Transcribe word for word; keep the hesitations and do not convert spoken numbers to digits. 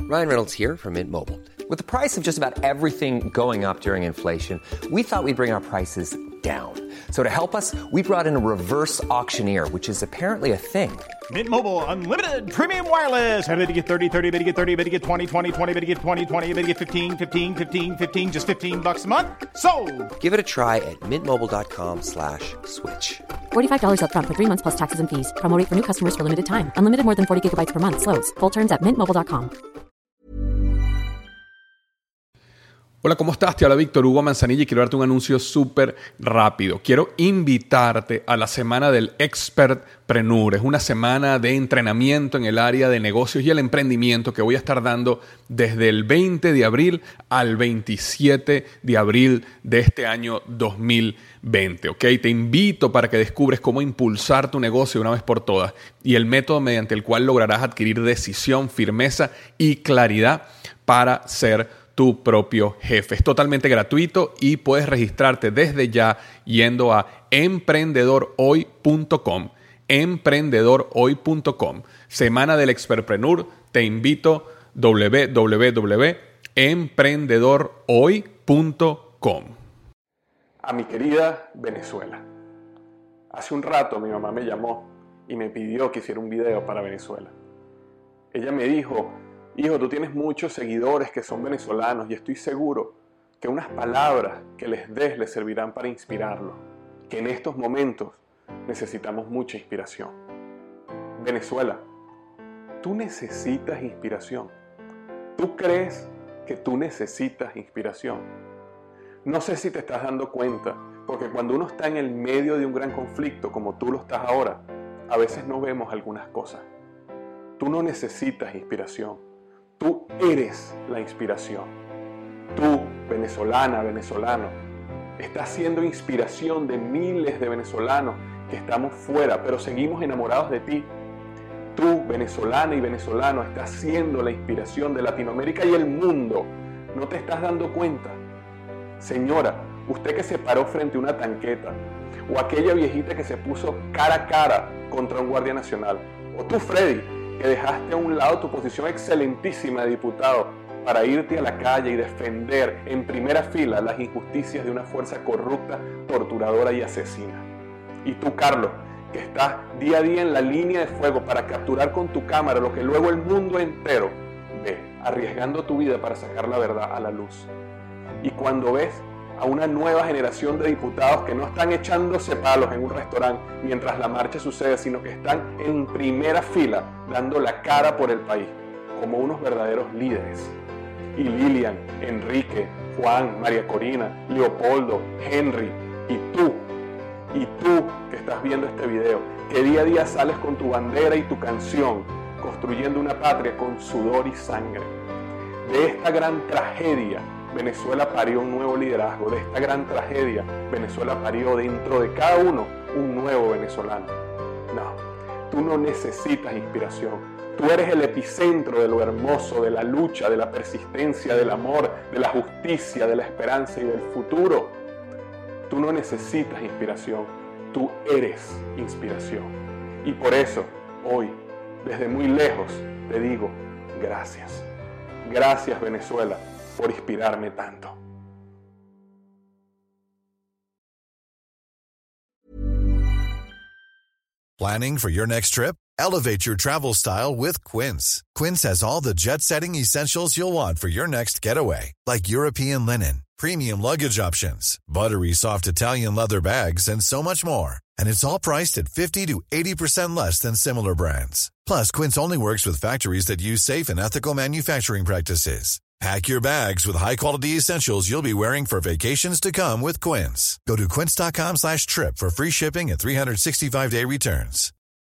Ryan Reynolds here from Mint Mobile. With the price of just about everything going up during inflation, we thought we'd bring our prices down. So to help us, we brought in a reverse auctioneer, which is apparently a thing. Mint Mobile Unlimited Premium Wireless. How to get thirty, thirty, how to get thirty, how to get twenty, twenty, twenty, how to get twenty, twenty, how to get fifteen, fifteen, fifteen, fifteen, just fifteen bucks a month? Sold! Give it a try at mintmobile.com slash switch. forty-five dollars up front for three months plus taxes and fees. Promo rate for new customers for limited time. Unlimited more than forty gigabytes per month. Slows full terms at mint mobile dot com. Hola, ¿cómo estás? Te habla Víctor Hugo Manzanilla y quiero darte un anuncio súper rápido. Quiero invitarte a la semana del Expertpreneur. Es una semana de entrenamiento en el área de negocios y el emprendimiento que voy a estar dando desde el veinte de abril al veintisiete de abril de este año dos mil veinte. ¿Ok? Te invito para que descubres cómo impulsar tu negocio una vez por todas y el método mediante el cual lograrás adquirir decisión, firmeza y claridad para ser tu propio jefe. Es totalmente gratuito y puedes registrarte desde ya yendo a emprendedor hoy punto com. emprendedor hoy punto com. Semana del Expertpreneur. Te invito doble u doble u doble u punto emprendedor hoy punto com. A mi querida Venezuela. Hace un rato mi mamá me llamó y me pidió que hiciera un video para Venezuela. Ella me dijo: hijo, tú tienes muchos seguidores que son venezolanos y estoy seguro que unas palabras que les des les servirán para inspirarlos, que en estos momentos necesitamos mucha inspiración. Venezuela, tú necesitas inspiración. ¿Tú crees que tú necesitas inspiración? No sé si te estás dando cuenta, porque cuando uno está en el medio de un gran conflicto, como tú lo estás ahora, a veces no vemos algunas cosas. Tú no necesitas inspiración. Tú eres la inspiración. Tú, venezolana, venezolano, estás siendo inspiración de miles de venezolanos que estamos fuera, pero seguimos enamorados de ti. Tú, venezolana y venezolano, estás siendo la inspiración de Latinoamérica y el mundo. ¿No te estás dando cuenta? Señora, usted que se paró frente a una tanqueta, o aquella viejita que se puso cara a cara contra un guardia nacional, o tú, Freddy, que dejaste a un lado tu posición excelentísima de diputado para irte a la calle y defender en primera fila las injusticias de una fuerza corrupta, torturadora y asesina. Y tú, Carlos, que estás día a día en la línea de fuego para capturar con tu cámara lo que luego el mundo entero ve, arriesgando tu vida para sacar la verdad a la luz. Y cuando ves a una nueva generación de diputados que no están echándose palos en un restaurante mientras la marcha sucede, sino que están en primera fila dando la cara por el país, como unos verdaderos líderes. Y Lilian, Enrique, Juan, María Corina, Leopoldo, Henry, y tú, y tú que estás viendo este video, que día a día sales con tu bandera y tu canción, construyendo una patria con sudor y sangre. De esta gran tragedia, Venezuela parió un nuevo liderazgo. De esta gran tragedia, Venezuela parió dentro de cada uno un nuevo venezolano. No, tú no necesitas inspiración. Tú eres el epicentro de lo hermoso, de la lucha, de la persistencia, del amor, de la justicia, de la esperanza y del futuro. Tú no necesitas inspiración. Tú eres inspiración. Y por eso, hoy, desde muy lejos, te digo gracias. Gracias, Venezuela, por inspirarme tanto. Planning for your next trip? Elevate your travel style with Quince. Quince has all the jet-setting essentials you'll want for your next getaway, like European linen, premium luggage options, buttery soft Italian leather bags, and so much more. And it's all priced at fifty to eighty percent less than similar brands. Plus, Quince only works with factories that use safe and ethical manufacturing practices. Pack your bags with high-quality essentials you'll be wearing for vacations to come with Quince. Go to quince.com slash trip for free shipping and three sixty-five day returns.